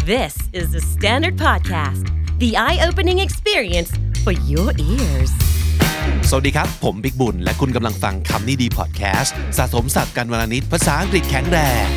This is the Standard Podcast, the eye-opening experience for your ears. สวัสดีครับผมบิ๊กบุญและคุณกำลังฟังคำนี้ดีพอดแคสต์สะสมศัพท์กันวลนิดภาษาอังกฤษแข็งแรง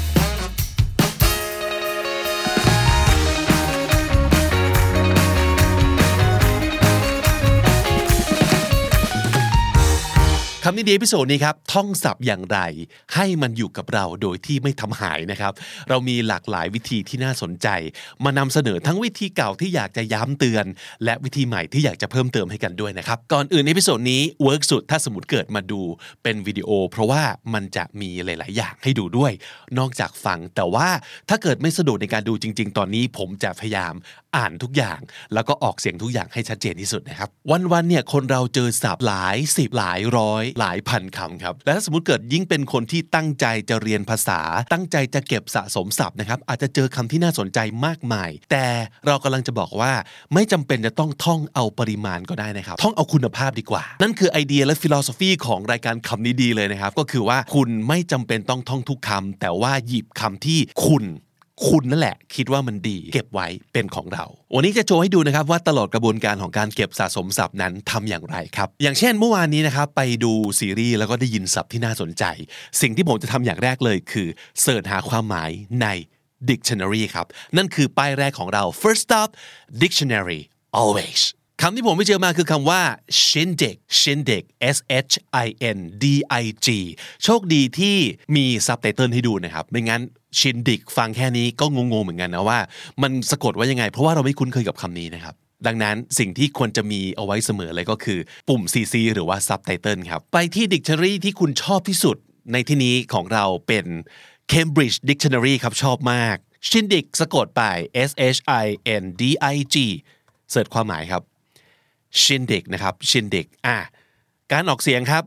คำนี้ดีเอพิโซดนี้ครับท่องศัพท์อย่างไรให้มันอยู่กับเราโดยที่ไม่ทำหายนะครับเรามีหลากหลายวิธีที่น่าสนใจมานำเสนอทั้งวิธีเก่าที่อยากจะย้ำเตือนและวิธีใหม่ที่อยากจะเพิ่มเติมให้กันด้วยนะครับก่อนอื่นเอพิโซดนี้เวิร์กสุดถ้าสมมติเกิดมาดูเป็นวิดีโอเพราะว่ามันจะมีหลายๆอย่างให้ดูด้วยนอกจากฟังแต่ว่าถ้าเกิดไม่สะดวกในการดูจริงๆตอนนี้ผมจะพยายามอ่านทุกอย่างแล้วก็ออกเสียงทุกอย่างให้ชัดเจนที่สุดนะครับวันๆเนี่ยคนเราเจอศัพท์หลายสิบหลายร้อยหลายพันคำครับและถ้าสมมติเกิดยิ่งเป็นคนที่ตั้งใจจะเรียนภาษาตั้งใจจะเก็บสะสมศัพท์นะครับอาจจะเจอคำที่น่าสนใจมากมายแต่เรากำลังจะบอกว่าไม่จำเป็นจะต้องท่องเอาปริมาณก็ได้นะครับท่องเอาคุณภาพดีกว่านั่นคือไอเดียและฟิโลโซฟีของรายการคำนี้ดีเลยนะครับก็คือว่าคุณไม่จำเป็นต้องท่องทุกคำแต่ว่าหยิบคำที่คุณนั่นแหละคิดว่ามันดีเก็บไว้เป็นของเราวันนี้จะโชว์ให้ดูนะครับว่าตลอดกระบวนการของการเก็บสะสมศัพท์นั้นทำอย่างไรครับอย่างเช่นเมื่อวานนี้นะครับไปดูซีรีส์แล้วก็ได้ยินศัพท์ที่น่าสนใจสิ่งที่ผมจะทำอย่างแรกเลยคือเสิร์ชหาความหมายใน dictionary ครับนั่นคือป้ายแรกของเรา first stop dictionary alwaysคำที่ผมไปเจอมาคือคำว่า shindig S H I N D I G โชคดีที่มีซับไตเติลให้ดูนะครับไม่งั้น shindig ฟังแค่นี้ก็งงๆเหมือนกันนะว่ามันสะกดว่ายังไงเพราะว่าเราไม่คุ้นเคยกับคำนี้นะครับดังนั้นสิ่งที่ควรจะมีเอาไว้เสมอเลยก็คือปุ่ม CC หรือว่าซับไตเติลครับไปที่ dictionary ที่คุณชอบที่สุดในที่นี้ของเราเป็น Cambridge Dictionary ครับชอบมาก shindig สะกดไป S H I N D I G เสิร์ชความหมายครับshindig นะครับ shindig การออกเสียงครับ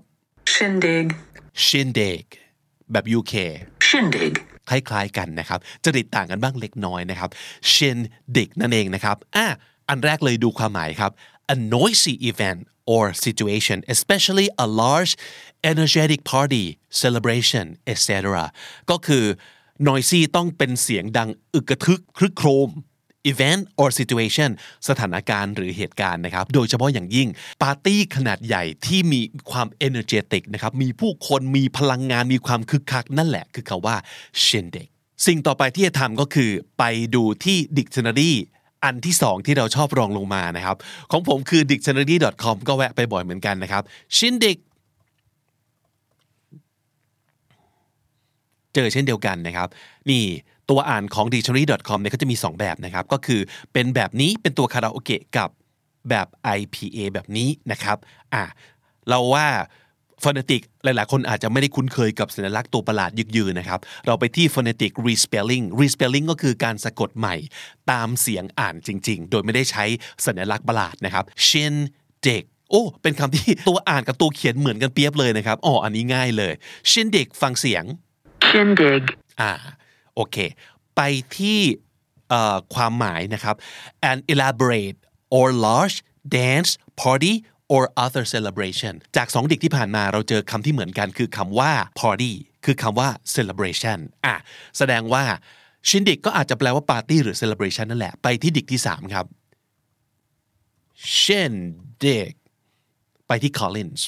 shindig แบบ UK shindig คล้ายๆกันนะครับจริตต่างกันบ้างเล็กน้อยนะครับ shindig นั่นเองนะครับอันแรกเลยดูความหมายครับ a noisy event or situation especially a large energetic party celebration etc ก็คือ noisy ต้องเป็นเสียงดังอึกกระทึกครึกโครมevent or situation สถานการณ์หรือเหตุการณ์นะครับโดยเฉพาะอย่างยิ่งปาร์ตี้ขนาดใหญ่ที่มีความ energetic นะครับมีผู้คนมีพลังงานมีความคึกคักนั่นแหละคือคำว่า shindig สิ่งต่อไปที่จะทำก็คือไปดูที่ dictionary อันที่2ที่เราชอบรองลงมานะครับของผมคือ dictionary.com ก็แวะไปบ่อยเหมือนกันนะครับ shindig เจอเช่นเดียวกันนะครับนี่ตัวอ่านของ dictionary.com เนี่ยก็จะมี2แบบนะครับก็คือเป็นแบบนี้เป็นตัวคาราโอเกะกับแบบ IPA แบบนี้นะครับเราว่า phonetic หลายๆคนอาจจะไม่ได้คุ้นเคยกับสัญลักษณ์ตัวประหลาดยึกยือนะครับเราไปที่ phonetic respelling ก็คือการสะกดใหม่ตามเสียงอ่านจริงๆโดยไม่ได้ใช้สัญลักษณ์ประหลาดนะครับ shindig เป็นคำที่ตัวอ่านกับตัวเขียนเหมือนกันเปียบเลยนะครับอันนี้ง่ายเลย shindig ฟังเสียง shindig โอเคไปที่ความหมายนะครับ an elaborate or large dance party or other celebration จาก2ดิกที่ผ่านมาเราเจอคำที่เหมือนกันคือคำว่า party คือคำว่า celebration แสดงว่า shindig ก็อาจจะแปลว่า party หรือ celebration นั่นแหละไปที่ดิกที่3ครับ shindig ไปที่ Collins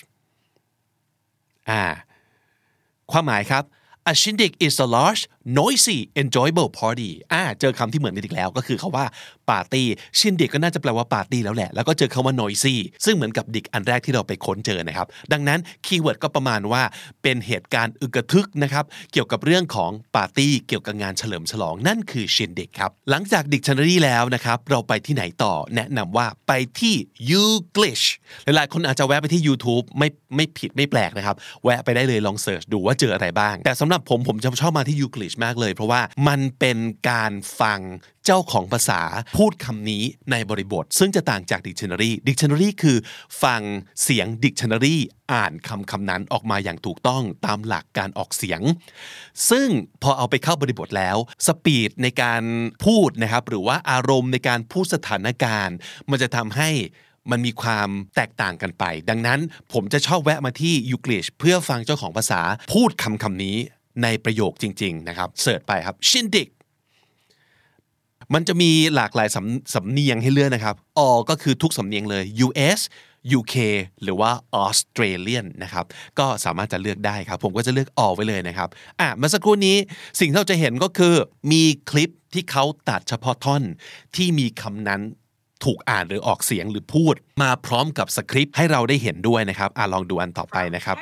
ความหมายครับA shindig is a large, noisy, enjoyable party เจอคำที่เหมือนกันอีกแล้วก็คือคำว่าปาร์ตี้ shindig ก็น่าจะแปลว่าปาร์ตี้แล้วแหละแล้วก็เจอคำว่า noisy ซึ่งเหมือนกับดิกอันแรกที่เราไปค้นเจอนะครับดังนั้นคีย์เวิร์ดก็ประมาณว่าเป็นเหตุการณ์อึกกระทึกนะครับเกี่ยวกับเรื่องของปาร์ตี้เกี่ยวกับงานเฉลิมฉลองนั่นคือ shindig ครับหลังจาก dictionary แล้วนะครับเราไปที่ไหนต่อแนะนำว่าไปที่ Youglish หลายๆคนอาจจะแวะไปที่ YouTube ไม่ผิดไม่แปลกนะครับแวะไปได้เลยลองเสิร์ชดูว่าเจออะไรบ้างแต่สำหรับผมจะชอบมาที่ Youglish มากเลยเพราะว่ามันเป็นการฟังเจ้าของภาษาพูดคำนี้ในบริบทซึ่งจะต่างจาก Dictionary คือฟังเสียง Dictionary อ่านคำนั้นออกมาอย่างถูกต้องตามหลักการออกเสียงซึ่งพอเอาไปเข้าบริบทแล้วสปีดในการพูดนะครับหรือว่าอารมณ์ในการพูดสถานการณ์มันจะทำให้มันมีความแตกต่างกันไปดังนั้นผมจะชอบแวะมาที่ Youglish เพื่อฟังเจ้าของภาษาพูดคำนี้ในประโยคจริงๆนะครับเสิร์ชไปครับ shindig มันจะมีหลากหลายสำเนียงให้เลือกนะครับ all ก็คือทุกสำเนียงเลย US UK หรือว่า Australian นะครับก็สามารถจะเลือกได้ครับผมก็จะเลือก all ไว้เลยนะครับเมื่อสักครู่นี้สิ่งที่เราจะเห็นก็คือมีคลิปที่เขาตัดเฉพาะท่อนที่มีคำนั้นถูกอ่านหรือออกเสียงหรือพูดมาพร้อมกับสคริปต์ให้เราได้เห็นด้วยนะครับลองดูอันต่อไปนะครับ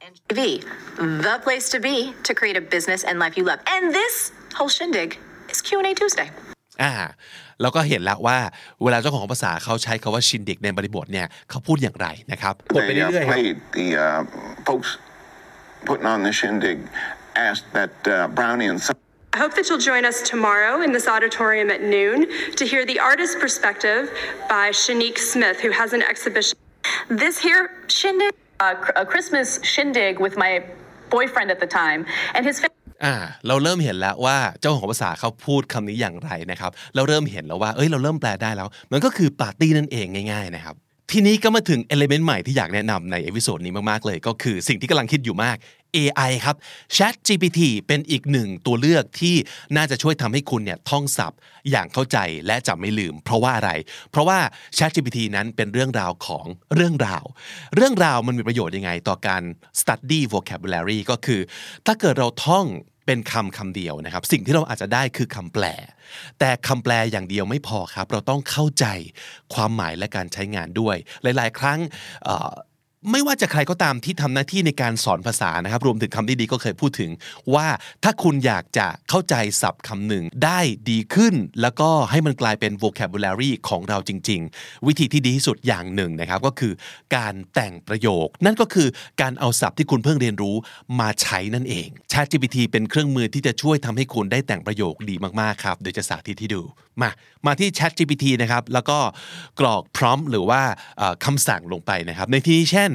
The place to be to create a business and life you love. And this whole shindig is Q&A Tuesday. เราก็เห็นแล้วว่าเวลาเจ้าของภาษาเขาใช้คำว่าชินดิกในบริบทเนี่ยเขาพูดอย่างไรนะครับกดไปเรื่อยๆครับ The folks putting on the shindig asked that Brownie and I hope that you'll join us tomorrow in this auditorium at noon to hear the artist's perspective by Shanique Smith, who has an exhibition. This here shindig, a Christmas shindig with my boyfriend at the time, and his family. เราเริ่มเห็นแล้วว่าเจ้าของภาษาเขาพูดคำนี้อย่างไรนะครับเราเริ่มเห็นแล้วว่าเราเริ่มแปลได้แล้วมันก็คือปาร์ตี้นั่นเองง่ายๆนะครับทีนี้ก็มาถึงเอลิเมนต์ใหม่ที่อยากแนะนำในเอพิโซดนี้มากๆเลยก็คือสิ่งที่กำลังคิดอยู่มาก AI ครับ ChatGPT เป็นอีกหนึ่งตัวเลือกที่น่าจะช่วยทำให้คุณเนี่ยท่องศัพท์อย่างเข้าใจและจำไม่ลืมเพราะว่าอะไรเพราะว่า ChatGPT นั้นเป็นเรื่องราวของเรื่องราวมันมีประโยชน์ยังไงต่อการ study vocabulary ก็คือถ้าเกิดเราท่องเป็นคำเดียวนะครับสิ่งที่เราอาจจะได้คือคำแปลแต่คำแปลอย่างเดียวไม่พอครับเราต้องเข้าใจความหมายและการใช้งานด้วยหลายๆครั้งไม่ว่าจะใครก็ตามที่ทำหน้าที่ในการสอนภาษานะครับรวมถึงคำที่ดีก็เคยพูดถึงว่าถ้าคุณอยากจะเข้าใจศัพท์คำหนึ่งได้ดีขึ้นแล้วก็ให้มันกลายเป็น vocabulary ของเราจริงๆวิธีที่ดีที่สุดอย่างหนึ่งนะครับก็คือการแต่งประโยคนั่นก็คือการเอาศัพท์ที่คุณเพิ่งเรียนรู้มาใช้นั่นเอง ChatGPT เป็นเครื่องมือที่จะช่วยทำให้คุณได้แต่งประโยคดีมากๆครับเดี๋ยวจะสาธิตให้ดูมาที่ ChatGPT นะครับแล้วก็กรอก prompt หรือว่าคำสั่งลงไปนะครับในที่นี้เช่น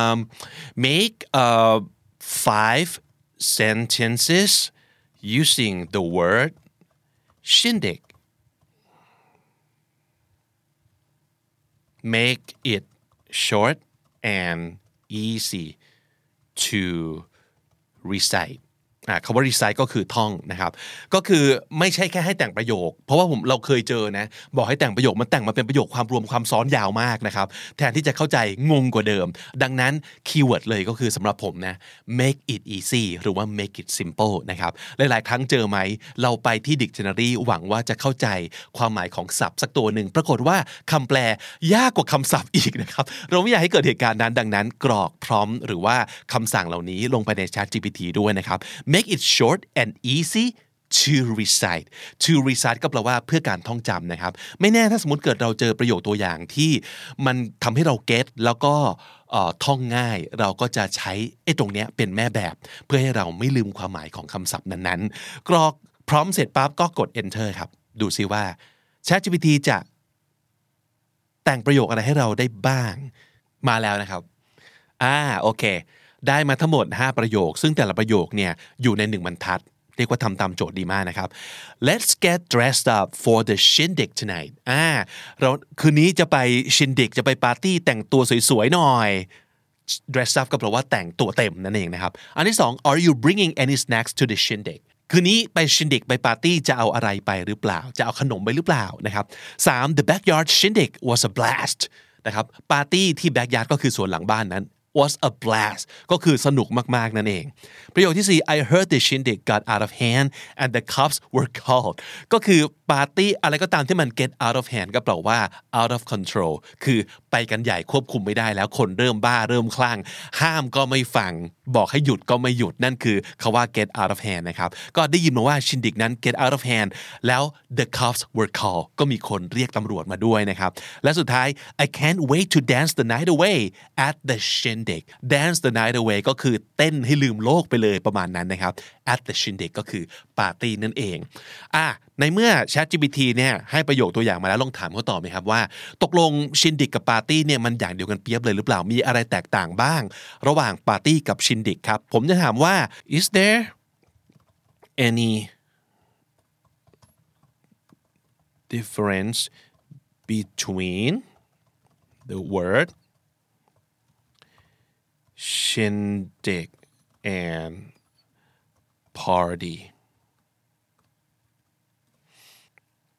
make 5 sentences using the word shindig make it short and easy to reciteคำว่า recite ก็คือท่องนะครับก็คือไม่ใช่แค่ให้แต่งประโยคเพราะว่าเราเคยเจอนะบอกให้แต่งประโยคมันแต่งมาเป็นประโยคความรวมความซ้อนยาวมากนะครับแทนที่จะเข้าใจงงกว่าเดิมดังนั้นคีย์เวิร์ดเลยก็คือสำหรับผมนะ make it easy หรือว่า make it simple นะครับหลายๆครั้งเจอไหมเราไปที่ dictionary หวังว่าจะเข้าใจความหมายของศัพท์สักตัวหนึ่งปรากฏว่าคำแปลยากกว่าคำศัพท์อีกนะครับเราไม่อยากให้เกิดเหตุการณ์นั้นดังนั้นกรอกพร้อมหรือว่าคำสั่งเหล่านี้ลงไปใน ChatGPT ด้วยนะครับmake it short and easy to recite ก็แปลว่าเพื่อการท่องจำนะครับไม่แน่ถ้าสมมติเกิดเราเจอประโยคตัวอย่างที่มันทำให้เราเก็ตแล้วก็ท่องง่ายเราก็จะใช้ตรงเนี้ยเป็นแม่แบบเพื่อให้เราไม่ลืมความหมายของคำศัพท์นั้นๆกรอกพร้อมเสร็จปั๊บก็กด enter ครับดูซิว่า ChatGPT จะแต่งประโยคอะไรให้เราได้บ้างมาแล้วนะครับโอเคได้มาทั้งหมด5ประโยคซึ่งแต่ละประโยคเนี่ยอยู่ใน1บรรทัดเรียกว่าทำตามโจทย์ดีมากนะครับ Let's get dressed up for the shindig tonight เราคืนนี้จะไป shindig จะไปปาร์ตี้แต่งตัวสวยๆหน่อย dress up ก็แปลว่าแต่งตัวเต็มนั่นเองนะครับอันที่2 Are you bringing any snacks to the shindig คืนนี้ไป shindig ไปปาร์ตี้จะเอาอะไรไปหรือเปล่าจะเอาขนมไปหรือเปล่านะครับ3 The backyard shindig was a blast นะครับปาร์ตี้ที่ backyard ก็คือสวนหลังบ้านนั้นwas a blast ก็คือสนุกมากๆนั่นเองประโยคที่4 I heard the shindig got out of hand and the cops were called ก็คือปาร์ตี้อะไรก็ตามที่มัน get out of hand ก็แปลว่า out of control คือไปกันใหญ่ควบคุมไม่ได้แล้วคนเริ่มบ้าเริ่มคลั่งห้ามก็ไม่ฟังบอกให้หยุดก็ไม่หยุดนั่นคือคำว่า get out of hand นะครับก็ได้ยินมาว่า shindig นั้น get out of hand แล้ว the cops were called ก็มีคนเรียกตำรวจมาด้วยนะครับและสุดท้าย I can't wait to dance the night away at the shindig dance the night away ก็คือเต้นให้ลืมโลกไปเลยประมาณนั้นนะครับ at the shindig ก็คือปาร์ตี้นั่นเองในเมื่อ ChatGPT เนี่ยให้ประโยคตัวอย่างมาแล้วลองถามเขาต่อไหมครับว่าตกลง shindig กับปาร์ตี้เนี่ยมันอย่างเดียวกันเปียบเลยหรือเปล่ามีอะไรแตกต่างบ้างระหว่างปาร์ตี้กับ shindig ครับผมจะถามว่า is there any difference between the word shindig and party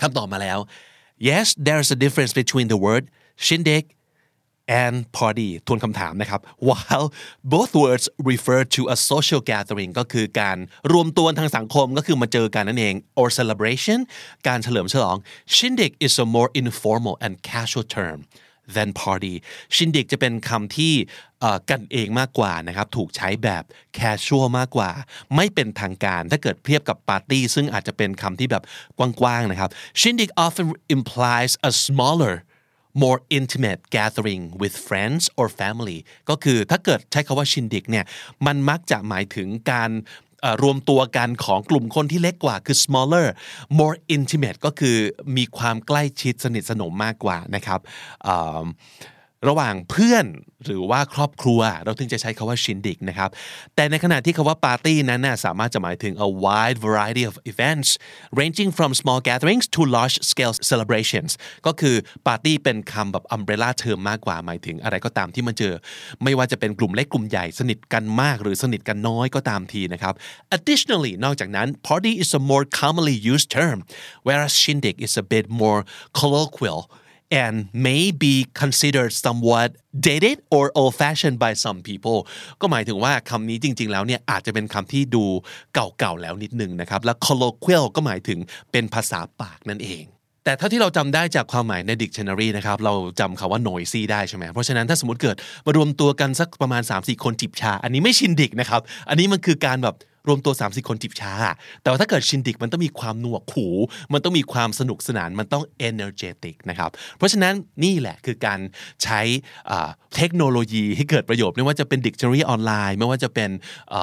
คำตอบมาแล้ว Yes there's a difference between the word shindig and party ทวนคำถามนะครับ While both words refer to a social gathering ก็คือการรวมตัวทางสังคมก็คือมาเจอกันนั่นเอง or celebration การเฉลิมฉลอง Shindig is a more informal and casual term than party Shindig จะเป็นคำที่กันเองมากกว่านะครับถูกใช้แบบ casual มากกว่าไม่เป็นทางการถ้าเกิดเทียบกับ party ซึ่งอาจจะเป็นคำที่แบบกว้างๆนะครับ Shindig often implies a smaller more intimate gathering with friends or family ก็คือถ้าเกิดใช้คำว่า Shindig เนี่ยมันมักจะหมายถึงการรวมตัวกันของกลุ่มคนที่เล็กกว่าคือ smaller more intimate ก็คือมีความใกล้ชิดสนิทสนมมากกว่านะครับระหว่างเพื่อนหรือว่าครอบครัวเราถึงจะใช้คำว่า Shindig นะครับแต่ในขณะที่คำว่า Party นั้นน่ะสามารถจะหมายถึง a wide variety of events ranging from small gatherings to large scale celebrations ก็คือ Party เป็นคำแบบ umbrella term มากกว่าหมายถึงอะไรก็ตามที่มาเจอไม่ว่าจะเป็นกลุ่มเล็กกลุ่มใหญ่สนิทกันมากหรือสนิทกันน้อยก็ตามทีนะครับ Additionally นอกจากนั้น Party is a more commonly used term whereas Shindig is a bit more colloquial and may be considered somewhat dated or old-fashioned by some people ก็หมายถึงว่าคำนี้จริงๆแล้วเนี่ยอาจจะเป็นคำที่ดูเก่าๆแล้วนิดนึงนะครับและ colloquial ก็หมายถึงเป็นภาษาปากนั่นเองแต่เท่าที่เราจำได้จากความหมายใน dictionary นะครับเราจำคำว่า noisy ได้ใช่ไหมเพราะฉะนั้นถ้าสมมติเกิดมารวมตัวกันสักประมาณ 3-4 คนจิบชาอันนี้ไม่ชินดิกนะครับอันนี้มันคือการแบบรวมตัว 3-4 คนจิบชาแต่ว่าถ้าเกิดชินดิกมันต้องมีความหนวกหูมันต้องมีความสนุกสนานมันต้อง energetic นะครับเพราะฉะนั้นนี่แหละคือการใช้เทคโนโลยีให้เกิดประโยชน์ไม่ว่าจะเป็น dictionary ออนไลน์ไม่ว่าจะเป็น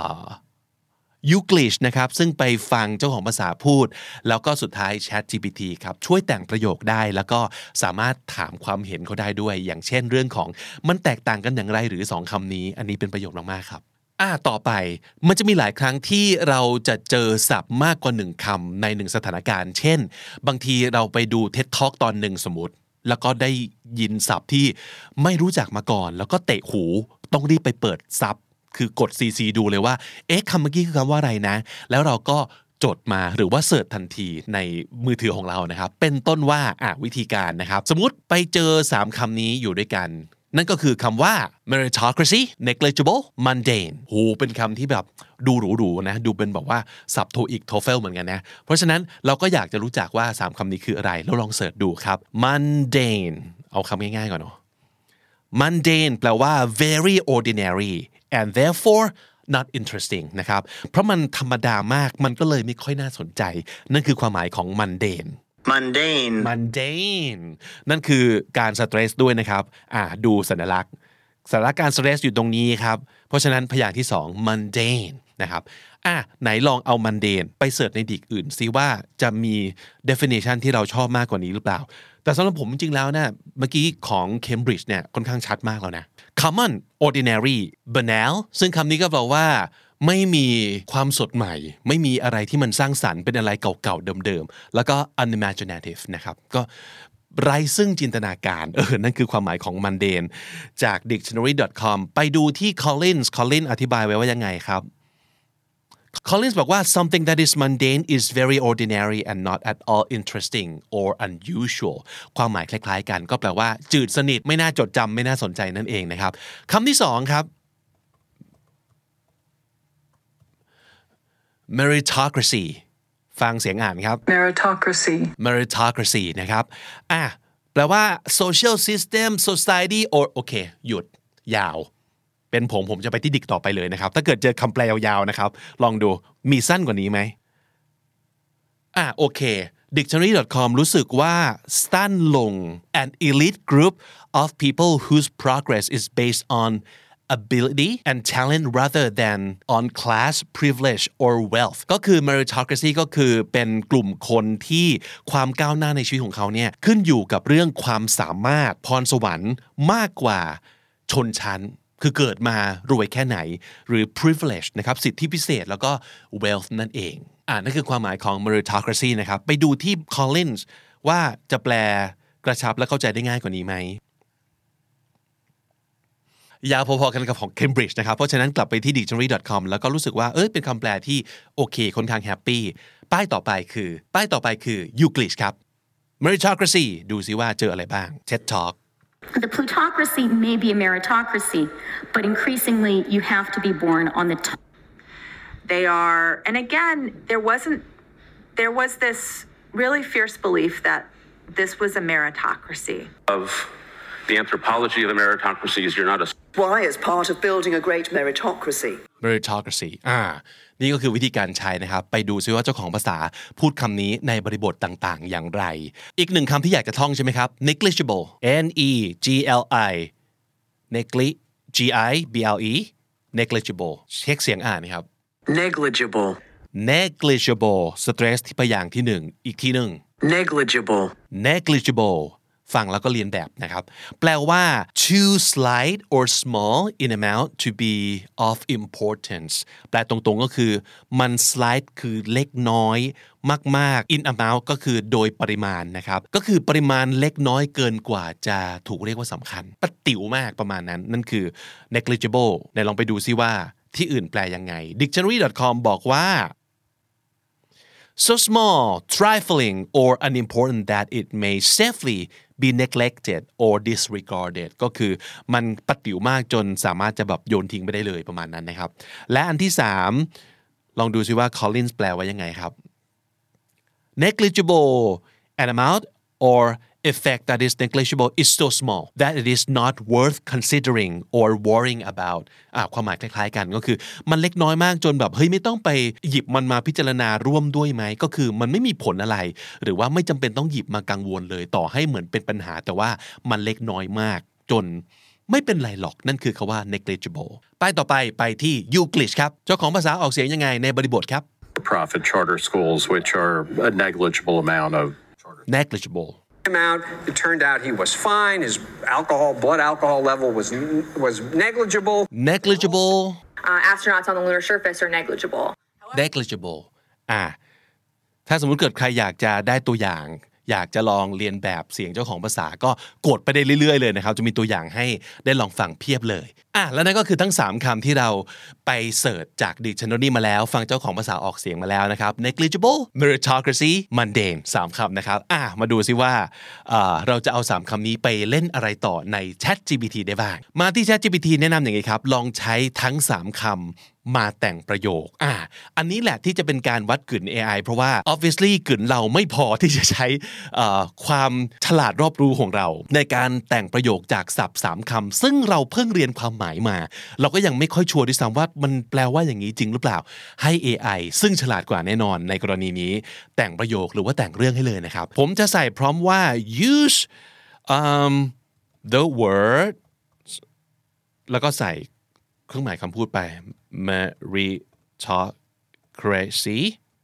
Youglish นะครับซึ่งไปฟังเจ้าของภาษาพูดแล้วก็สุดท้าย ChatGPT ครับช่วยแต่งประโยคได้แล้วก็สามารถถามความเห็นเขาได้ด้วยอย่างเช่นเรื่องของมันแตกต่างกันอย่างไรหรือ2คำนี้อันนี้เป็นประโยชน์มากๆครับต่อไปมันจะมีหลายครั้งที่เราจะเจอศัพท์มากกว่า1คำใน1สถานการณ์เช่นบางทีเราไปดู TED Talk ตอนหนึ่งสมมุติแล้วก็ได้ยินศัพท์ที่ไม่รู้จักมาก่อนแล้วก็เตะหูต้องรีบไปเปิดซับคือกด CC ดูเลยว่าคำเมื่อกี้คือคำว่าอะไรนะแล้วเราก็จดมาหรือว่าเสิร์ชทันทีในมือถือของเรานะครับเป็นต้นว่าวิธีการนะครับสมมุติไปเจอ3คำนี้อยู่ด้วยกันนั่นก็คือคำว่า meritocracy negligible mundane โหเป็นคำที่แบบดูหรูๆนะดูเป็นแบบว่าศัพท์โทอีก TOEFL เหมือนกันนะเพราะฉะนั้นเราก็อยากจะรู้จักว่า3คำนี้คืออะไรแล้วลองเสิร์ชดูครับ mundane เอาคำง่ายๆก่อนเนาะ mundane แปลว่า very ordinary and therefore not interesting นะครับเพราะมันธรรมดามากมันก็เลยไม่ค่อยน่าสนใจนั่นคือความหมายของ mundaneนั่นคือการสเตรสด้วยนะครับดูสัญลักษณ์การสเตรสอยู่ตรงนี้ครับเพราะฉะนั้นพยางค์ที่2 mundane นะครับไหนลองเอา mundane ไปเสิร์ชในดิกอื่นซิว่าจะมี definition ที่เราชอบมากกว่านี้หรือเปล่าแต่สำหรับผมจริงๆแล้วนะเมื่อกี้ของ Cambridge เนี่ยค่อนข้างชัดมากแล้วนะ common ordinary banal ซึ่งคำนี้ก็แปลว่าไม่มีความสดใหม่ไม่มีอะไรที่มันสร้างสรรค์เป็นอะไรเก่าๆเดิมๆแล้วก็ unimaginative นะครับก็ไร้ซึ่งจินตนาการนั่นคือความหมายของ mundane จาก dictionary.com ไปดูที่ Collins อธิบายไว้ว่ายังไงครับ Collins บอกว่า something that is mundane is very ordinary and not at all interesting or unusual ความหมายคล้ายๆกันก็แปลว่าจืดสนิทไม่น่าจดจำไม่น่าสนใจนั่นเองนะครับคำที่2ครับmeritocracy ฟังเสียงอ่านครับ meritocracy นะครับแปลว่า social system society or โอเคหยุดยาวเป็นผมจะไปที่ดิกต่อไปเลยนะครับถ้าเกิดเจอคำแปลยาวๆนะครับลองดูมีสั้นกว่านี้ไหมโอเค dictionary.com รู้สึกว่าสั้นลง an elite group of people whose progress is based on ability and talent rather than on class privilege or wealth ก็คือ meritocracy ก็คือเป็นกลุ่มคนที่ความก้าวหน้าในชีวิตของเขาเนี่ยขึ้นอยู่กับเรื่องความสามารถพรสวรรค์มากกว่าชนชั้นคือเกิดมารวยแค่ไหนหรือ privilege นะครับสิทธิพิเศษแล้วก็ wealth นั่นเองนั่นคือความหมายของ meritocracy นะครับไปดูที่ Collins ว่าจะแปลกระชับและเข้าใจได้ง่ายกว่านี้ไหมยาวพอๆกันกับของ Cambridge นะครับเพราะฉะนั้นกลับไปที่ dictionary.com แล้วก็รู้สึกว่าเป็นคำแปลที่โอเคค่อนข้างแฮปปี้ป้ายต่อไปคือ Youglish ครับ meritocracy ดูซิว่าเจออะไรบ้าง TED Talk The plutocracy may be a meritocracy, but increasingly you have to be born on the top. They are, and again, there was this really fierce belief that this was a meritocracy. Of the anthropology of the meritocracy is you're not a Why is part of building a great meritocracy? meritocracy นี่ก็คือวิธีการใช้นะครับไปดูซิว่าเจ้าของภาษาพูดคำนี้ในบริบทต่างๆอย่างไรอีกหนึ่งคำที่อยากจะท่องใช่ไหมครับ negligible N-E-G-L-I G-I-B-L-E negligible เช็คเสียงอ่านนะครับ Negligible. negligible stress ที่พยางค์ที่หนึ่งอีกทีหนึ่ง Negligible. negligible ฟังแล้วก็เรียนแบบนะครับแปลว่า too slight or small in amount to be of importance แปลตรงๆก็คือมัน slight คือเล็กน้อยมากๆ in amount ก็คือโดยปริมาณนะครับก็คือปริมาณเล็กน้อยเกินกว่าจะถูกเรียกว่าสำคัญปะติ๋วมากประมาณนั้นนั่นคือ negligible ไหนลองไปดูซิว่าที่อื่นแปลยังไง dictionary.com บอกว่าso small, trifling, or unimportant that it may safely be neglected or disregarded ก็คือมันปะติ๋วมากจนสามารถจะแบบโยนทิ้งไปได้เลยประมาณนั้นนะครับและอันที่3ลองดูซิว่า Collins แปลว่ายังไงครับ negligible an amount or effect that is negligible is so small that it is not worth considering or worrying about ความหมายคล้ายๆกันก็คือมันเล็กน้อยมากจนแบบเฮ้ยไม่ต้องไปหยิบมันมาพิจารณาร่วมด้วยไหมก็คือมันไม่มีผลอะไรหรือว่าไม่จำเป็นต้องหยิบมากังวลเลยต่อให้เหมือนเป็นปัญหาแต่ว่ามันเล็กน้อยมากจนไม่เป็นไรหรอกนั่นคือคำว่า negligible ป้ายต่อไปที่ Euclid ครับเจ้าของภาษาออกเสียงยังไงในบริบทครับ profit charter schools which are a negligible amount of negligible out, it turned out he was fine. His blood alcohol level was negligible. Negligible. Astronauts on the lunar surface are negligible. Negligible. ถ้าสมมุติเกิดใครอยากจะได้ตัวอย่างอยากจะลองเรียนแบบเสียงเจ้าของภาษาก็กดไปได้เรื่อยๆเลยนะครับจะมีตัวอย่างให้ได้ลองฟังเพียบเลยแล้วนั่นก็คือทั้ง3คำที่เราไปเสิร์ชจาก Dictionary มาแล้วฟังเจ้าของภาษาออกเสียงมาแล้วนะครับ negligible meritocracy mundane 3คำนะครับมาดูซิว่าเราจะเอา3คำนี้ไปเล่นอะไรต่อใน ChatGPT ได้บ้างมาที่ ChatGPT แนะนำอย่างนี้ครับลองใช้ทั้ง3คำมาแต่งประโยคอันนี้แหละที่จะเป็นการวัดกึ่น AI เพราะว่า obviously กึ่นเราไม่พอที่จะใช้ความฉลาดรอบรู้ของเราในการแต่งประโยคจากศัพท์3คำซึ่งเราเพิ่งเรียนความหมายมาเราก็ยังไม่ค่อยชัวร์ด้วยซ้ำว่ามันแปลว่าอย่างนี้จริงหรือเปล่าให้ AI ซึ่งฉลาดกว่าแน่นอนในกรณีนี้แต่งประโยคหรือว่าแต่งเรื่องให้เลยนะครับผมจะใส่พร้อมว่า use the word แล้วก็ใส่เครื่องหมายคำพูดไป meritocracy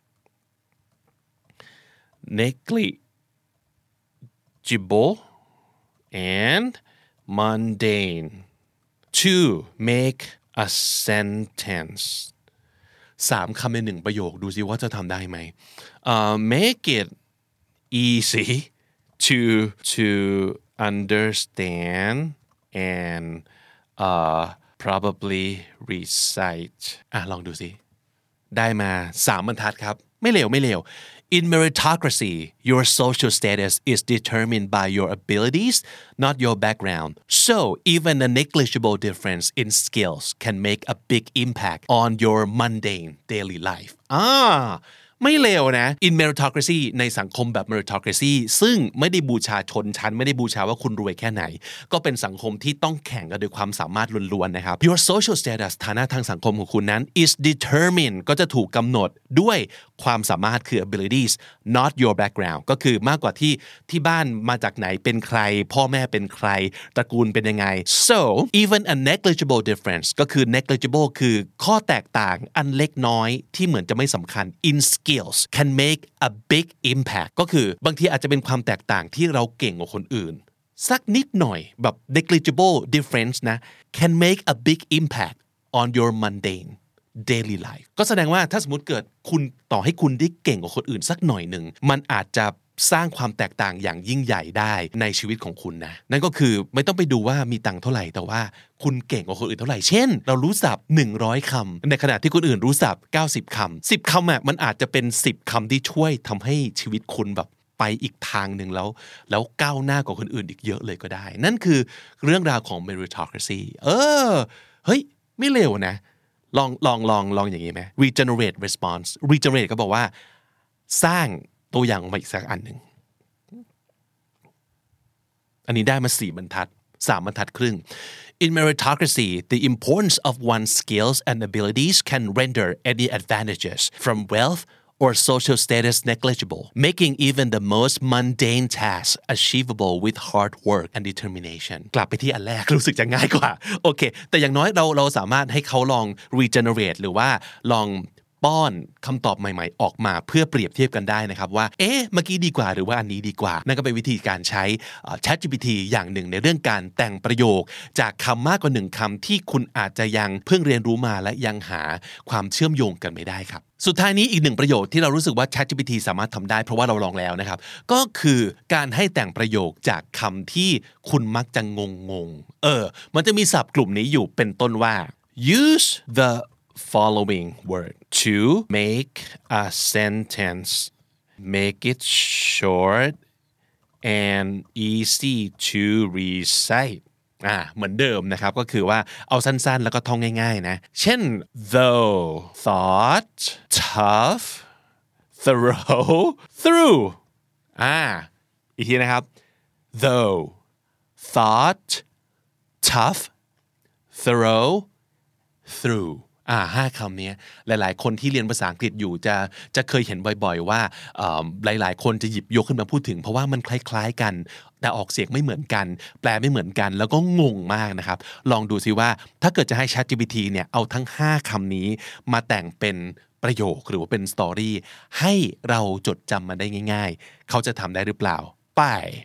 negligible and mundane to make a sentence 3 คำใน1ประโยคดูสิว่าจะทำได้ไหมmake it easy to understand and probably recite ลองดูสิได้มา3 บรรทัดครับไม่เลวIn meritocracy, your social status is determined by your abilities, not your background. So, even a negligible difference in skills can make a big impact on your mundane daily life. ไม่เลวนะ in meritocracy ในสังคมแบบ meritocracy ซึ่งไม่ได้บูชาชนชั้นไม่ได้บูชาว่าคุณรวยแค่ไหนก็เป็นสังคมที่ต้องแข่งกันด้วยความสามารถล้วนๆนะครับ your social status ฐานะทางสังคมของคุณนั้น is determined ก็จะถูกกำหนดด้วยความสามารถคือ abilities not your background ก็คือมากกว่าที่บ้านมาจากไหนเป็นใครพ่อแม่เป็นใครตระกูลเป็นยังไง so even a negligible difference ก็คือ negligible คือข้อแตกต่างอันเล็กน้อยที่เหมือนจะไม่สำคัญ in skills can make a big impact ก็คือบางทีอาจจะเป็นความแตกต่างที่เราเก่งกว่าคนอื่นสักนิดหน่อยแบบ negligible difference นะ can make a big impact on your mundane daily life ก็แสดงว่าถ้าสมมติเกิดคุณต่อให้คุณได้เก่งกว่าคนอื่นสักหน่อยหนึ่งมันอาจจะสร้างความแตกต่างอย่างยิ่งใหญ่ได้ในชีวิตของคุณนะนั่นก็คือไม่ต้องไปดูว่ามีตังค์เท่าไหร่แต่ว่าคุณเก่งกว่าคนอื่นเท่าไหร่เช่นเรารู้ศัพท์100 คำในขณะที่คนอื่นรู้ศัพท์90 คำ10 คำมันอาจจะเป็น10 คำที่ช่วยทำให้ชีวิตคุณแบบไปอีกทางหนึ่งแล้วก้าวหน้ากว่าคนอื่นอีกเยอะเลยก็ได้นั่นคือเรื่องราวของ meritocracy เฮ้ยไม่เลวนะลองอย่างนี้ไหม regenerate response regenerate ก็บอกว่าสร้างตัวอย่างมาอีกสักอันหนึ่งอันนี้ได้มา4 บรรทัด 3 บรรทัดครึ่ง In meritocracy, the importance of one's skills and abilities can render any advantages from wealth or social status negligible, making even the most mundane tasks achievable with hard work and determination. กลับไปที่อันแรกรู้สึกจะง่ายกว่าโอเคแต่อย่างน้อยเราสามารถให้เขาลอง regenerate หรือว่าลองป้อนคำตอบใหม่ๆออกมาเพื่อเปรียบเทียบกันได้นะครับว่าเมื่อกี้ดีกว่าหรือว่าอันนี้ดีกว่านั่นก็เป็นวิธีการใช้ ChatGPT อย่างหนึ่งในเรื่องการแต่งประโยคจากคำมากกว่า1 คำที่คุณอาจจะยังเพิ่งเรียนรู้มาและยังหาความเชื่อมโยงกันไม่ได้ครับสุดท้ายนี้อีก1 ประโยคที่เรารู้สึกว่า ChatGPT สามารถทำได้เพราะว่าเราลองแล้วนะครับก็คือการให้แต่งประโยคจากคำที่คุณมักจะงงมันจะมีศัพท์กลุ่มนี้อยู่เป็นต้นว่า use the following word to make a sentence make it short and easy to recite เหมือนเดิมนะครับก็คือว่าเอาสั้นๆแล้วก็ท่องง่ายๆนะเช่น though thought tough thorough through อีกทีนะครับ though thought tough thorough through 5 คำนี้หลายๆคนที่เรียนภาษาอังกฤษอยู่จะเคยเห็นบ่อยๆว่าหลายๆคนจะหยิบยกขึ้นมาพูดถึงเพราะว่ามันคล้ายๆกันแต่ออกเสียงไม่เหมือนกันแปลไม่เหมือนกันแล้วก็งงมากนะครับลองดูซิว่าถ้าเกิดจะให้ ChatGPT เนี่ยเอาทั้ง5 คำนี้มาแต่งเป็นประโยคหรือว่าเป็นสตอรี่ให้เราจดจำมันได้ง่ายๆเขาจะทำได้หรือเปล่าไป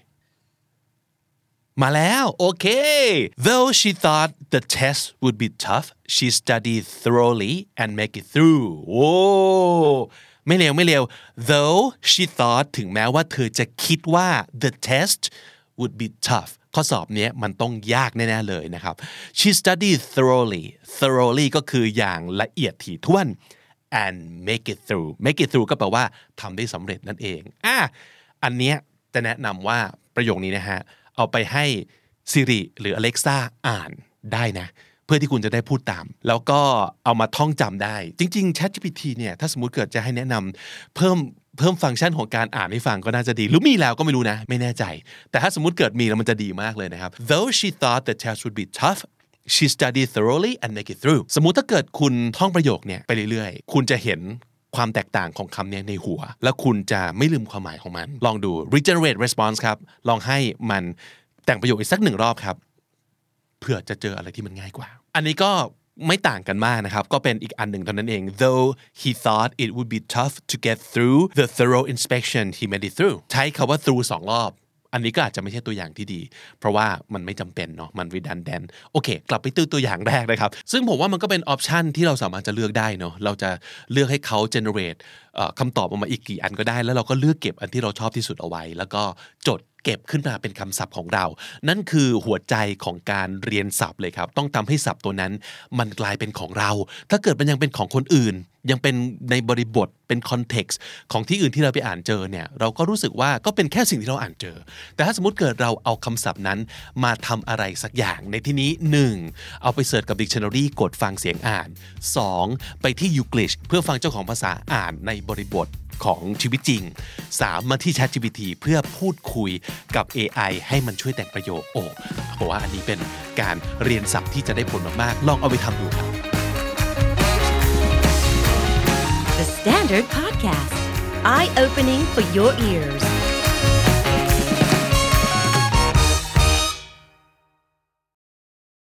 มาแล้วโอเค Though she thought the test would be tough she studied thoroughly and make it through โอ้ไม่เลว Though she thought ถึงแม้ว่าเธอจะคิดว่า the test would be tough ข้อสอบนี้มันต้องยากแน่ๆเลยนะครับ she studied thoroughly ก็คืออย่างละเอียดถี่ถ้วน and make it through ก็แปลว่าทำได้สำเร็จนั่นเองอันเนี้ยจะแนะนำว่าประโยคนี้นะฮะเอาไปให้ Siri หรือ Alexa อ่านได้นะเพื่อที่คุณจะได้พูดตามแล้วก็เอามาท่องจำได้จริงๆ ChatGPT เนี่ยถ้าสมมุติเกิดจะให้แนะนำเพิ่มฟังก์ชันของการอ่านให้ฟังก็น่าจะดีหรือมีแล้วก็ไม่รู้นะไม่แน่ใจแต่ถ้าสมมุติเกิดมีแล้วมันจะดีมากเลยนะครับ Though she thought the test would be tough she studied thoroughly and make it through สมมุติถ้าเกิดคุณท่องประโยคเนี่ยไปเรื่อยๆคุณจะเห็นความแตกต่างของคำนี้ในหัวแล้วคุณจะไม่ลืมความหมายของมันลองดู regenerate response ครับลองให้มันแต่งประโยคอีกสัก1 รอบครับเพื่อจะเจออะไรที่มันง่ายกว่าอันนี้ก็ไม่ต่างกันมากนะครับก็เป็นอีกอันหนึ่งเท่านั้นเอง though he thought it would be tough to get through the thorough inspection he made it through ใช้คำว่า through 2 รอบอันนี้ก็อาจจะไม่ใช่ตัวอย่างที่ดีเพราะว่ามันไม่จำเป็นเนาะมัน redundant โอเคกลับไปตัวอย่างแรกนะครับซึ่งผมว่ามันก็เป็นออปชันที่เราสามารถจะเลือกได้เนาะเราจะเลือกให้เขา generate คำตอบออกมาอีกกี่อันก็ได้แล้วเราก็เลือกเก็บอันที่เราชอบที่สุดเอาไว้แล้วก็จดเก็บขึ้นมาเป็นคำศัพท์ของเรานั่นคือหัวใจของการเรียนศัพท์เลยครับต้องทำให้ศัพท์ตัวนั้นมันกลายเป็นของเราถ้าเกิดมันยังเป็นของคนอื่นยังเป็นในบริบทเป็นคอนเท็กซ์ของที่อื่นที่เราไปอ่านเจอเนี่ยเราก็รู้สึกว่าก็เป็นแค่สิ่งที่เราอ่านเจอแต่ถ้าสมมติเกิดเราเอาคำศัพท์นั้นมาทำอะไรสักอย่างในที่นี้ 1. เอาไปเสิร์ชกับ Dictionary กดฟังเสียงอ่าน 2. ไปที่ Youglish เพื่อฟังเจ้าของภาษาอ่านในบริบทของชีวิตจริง 3. มาที่ ChatGPT เพื่อพูดคุยกับ AI ให้มันช่วยแต่งประโยคเพราะว่าอันนี้เป็นการเรียนศัพท์ที่จะได้ผลมากๆลองเอาไปทำดูครับ The Standard Podcast Eye Opening for Your Ears